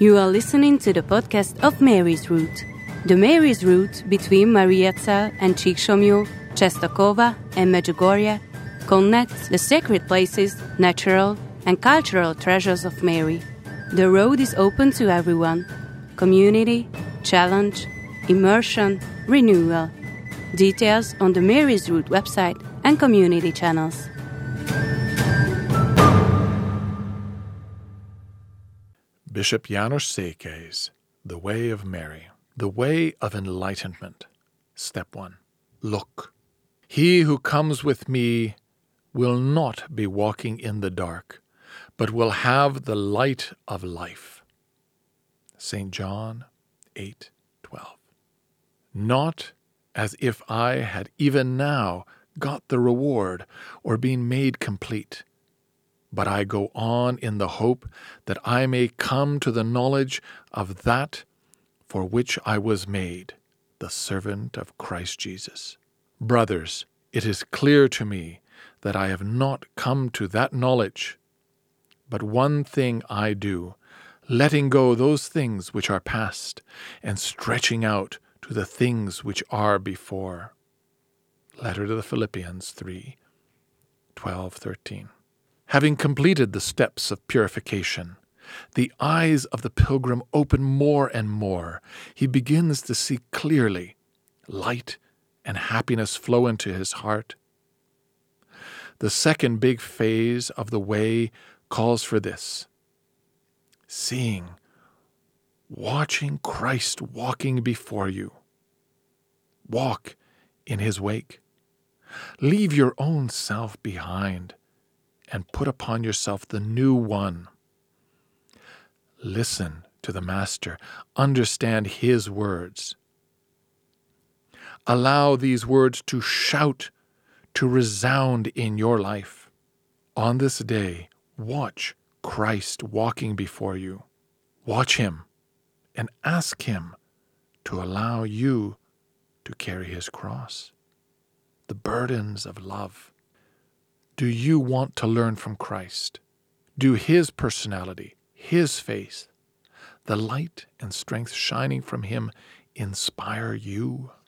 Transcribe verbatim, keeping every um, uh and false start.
You are listening to the podcast of Mary's Route. The Mary's Route between Mariazell and Csíksomlyó, Czestochowa and Medjugorje connects the sacred places, natural and cultural treasures of Mary. The road is open to everyone. Community, challenge, immersion, renewal. Details on the Mary's Route website and community channels. Bishop János Székely's The Way of Mary, The Way of Enlightenment. Step one. Look, he who comes with me will not be walking in the dark, but will have the light of life. Saint John eight twelve. Not as if I had even now got the reward or been made complete, but I go on in the hope that I may come to the knowledge of that for which I was made, the servant of Christ Jesus. Brothers, it is clear to me that I have not come to that knowledge, but one thing I do, letting go those things which are past, and stretching out to the things which are before. Letter to the Philippians three twelve thirteen. Having completed the steps of purification, the eyes of the pilgrim open more and more. He begins to see clearly. Light and happiness flow into his heart. The second big phase of the way calls for this: seeing, watching Christ walking before you. Walk in his wake. Leave your own self behind and put upon yourself the new one. Listen to the Master. Understand his words. Allow these words to shout, to resound in your life. On this day, watch Christ walking before you. Watch him and ask him to allow you to carry his cross, the burdens of love. Do you want to learn from Christ? Do his personality, his faith, the light and strength shining from him inspire you?